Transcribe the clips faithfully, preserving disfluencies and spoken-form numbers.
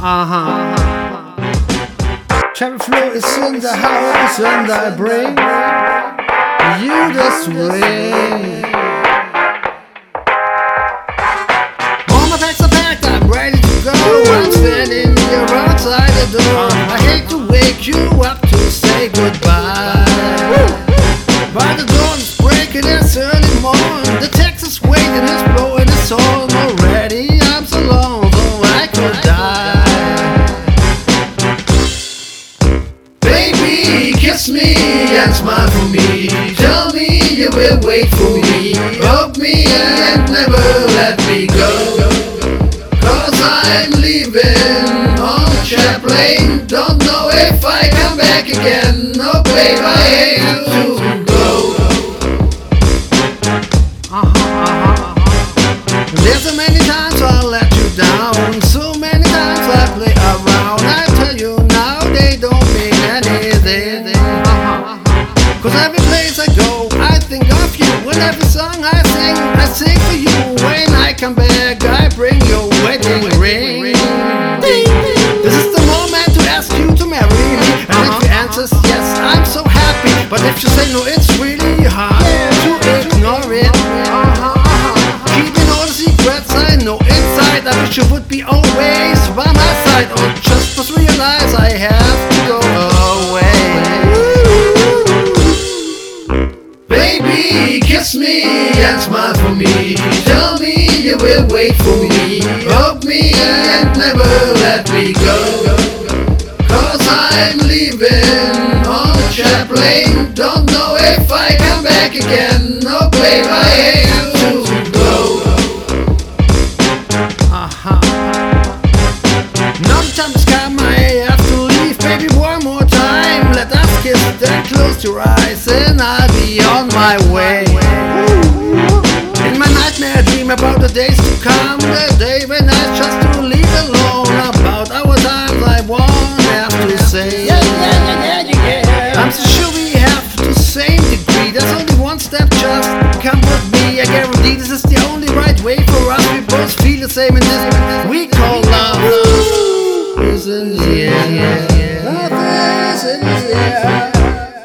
Uh-huh. Terry Flo is in the house and I bring you the swing. All my bags are packed, I'm ready to go. I'm standing here outside the door. I hate to wake you up to say goodbye, but the dawn is breaking, it's early morning. The Texas wind is blowing, it's all already. I'm so long, though I could die. Baby, kiss me and smile for me. Tell me you will wait for me. Hug me and never let me go. Cause I'm leaving on a jet plane. Don't know if I come back again. No, babe, I hate to go. Uh-huh, uh-huh, uh-huh. There's so many times I let you down. So many times I play around. I tell you now they don't mean anything. Uh-huh, uh-huh. Cause every place I go I think of you. And every song I sing, I sing for you. When I come back I bring your wedding ring. This is the moment to ask you to marry me. And if you answer yes, I'm so happy. But if you say no, it's really hard to ignore it. Keeping all the secrets I know inside. I wish you would be always by my side. Or just must realize I have to go away. Baby, kiss me and smile for me. Tell me you will wait for me. Hug me and never let me go. Cause I'm leaving on a jet plane. Don't know if I come back again. No, babe, I hate to go. Uh-huh. Now the time has come, I have to leave. Baby, one more time. Let us kiss, then close your eyes and I'll be on my way. In my nightmare I dream about the days to come. The day when I just to leave alone. About our times I won't have to say. Yeah, yeah, yeah, yeah, yeah. I'm so sure we have the same degree. There's only one step, just come with me. I guarantee this is the only right way for us. We both feel the same in this we call love. Love is in the air. Love is in the air.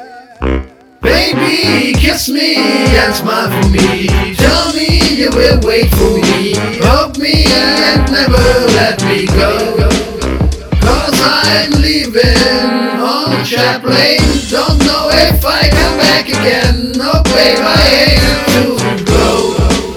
Baby, kiss me and smile for me. Tell me you will wait for me. Hug me and never let me go. Cause I'm leaving on a jet plane. Don't know if I come back again. No, babe, I hate to go.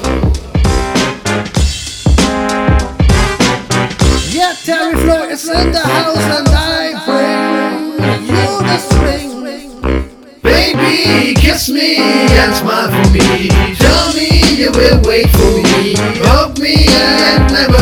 Yeah, Terry Flo is in the house and I bring you the swing. Baby, kiss me and smile for me. Tell me you will wait for me. Hug me and never